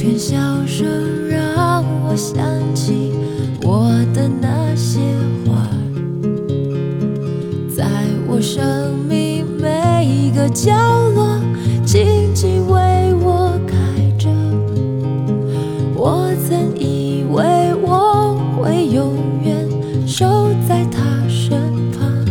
片笑声让我想起我的那些花，在我生命每一个角落静静为我开着。我曾以为我会永远守在他身旁，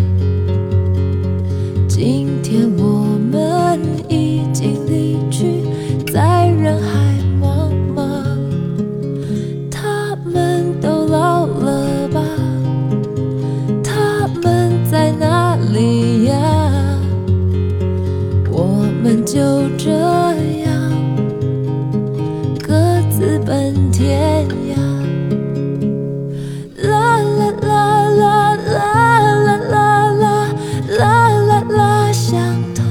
今天我们已经离去，在人海茫茫。他们都老了吧？他们在哪里呀？我们就这样各自奔天涯。啦啦啦啦啦啦啦啦啦啦啦，想他。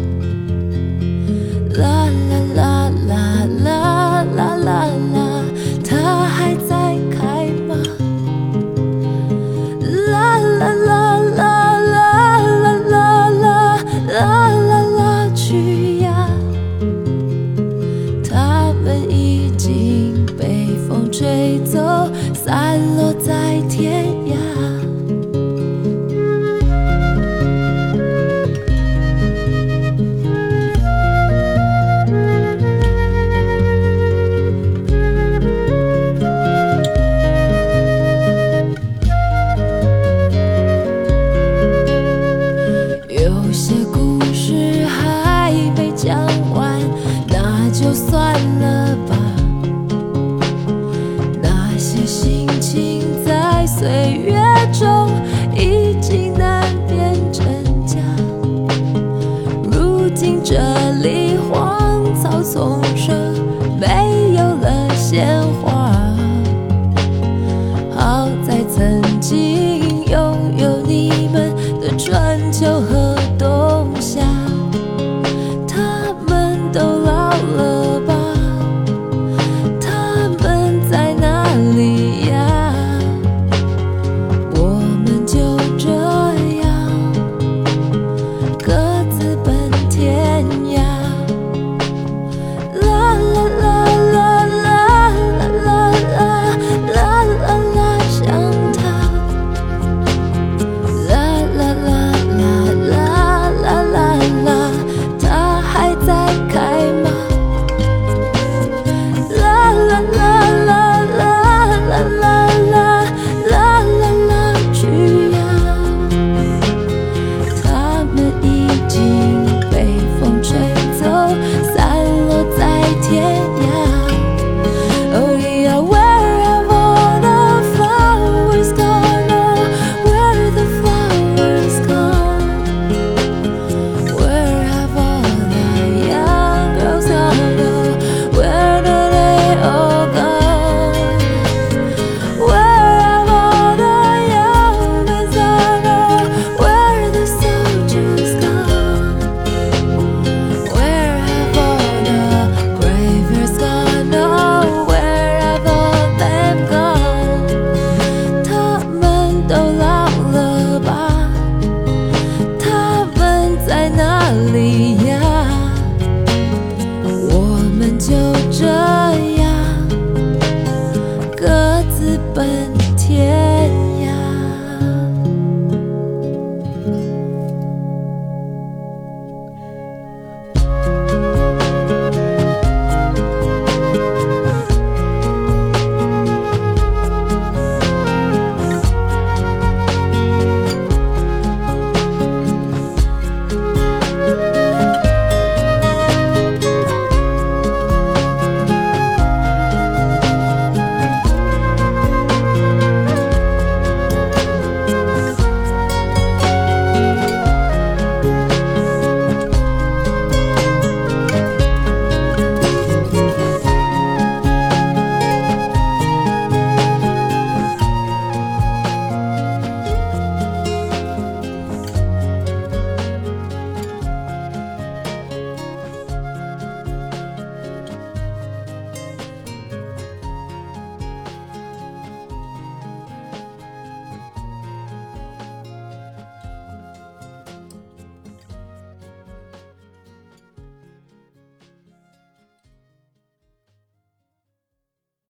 啦啦啦啦啦啦啦啦，他还在开吗？啦啦啦啦啦啦啦啦啦啦啦，去呀！他们已经被风吹走，散落在天涯。有些故事还没讲完，那就算了吧。那些心情在岁月中已经难辨真假。如今这里荒草丛生，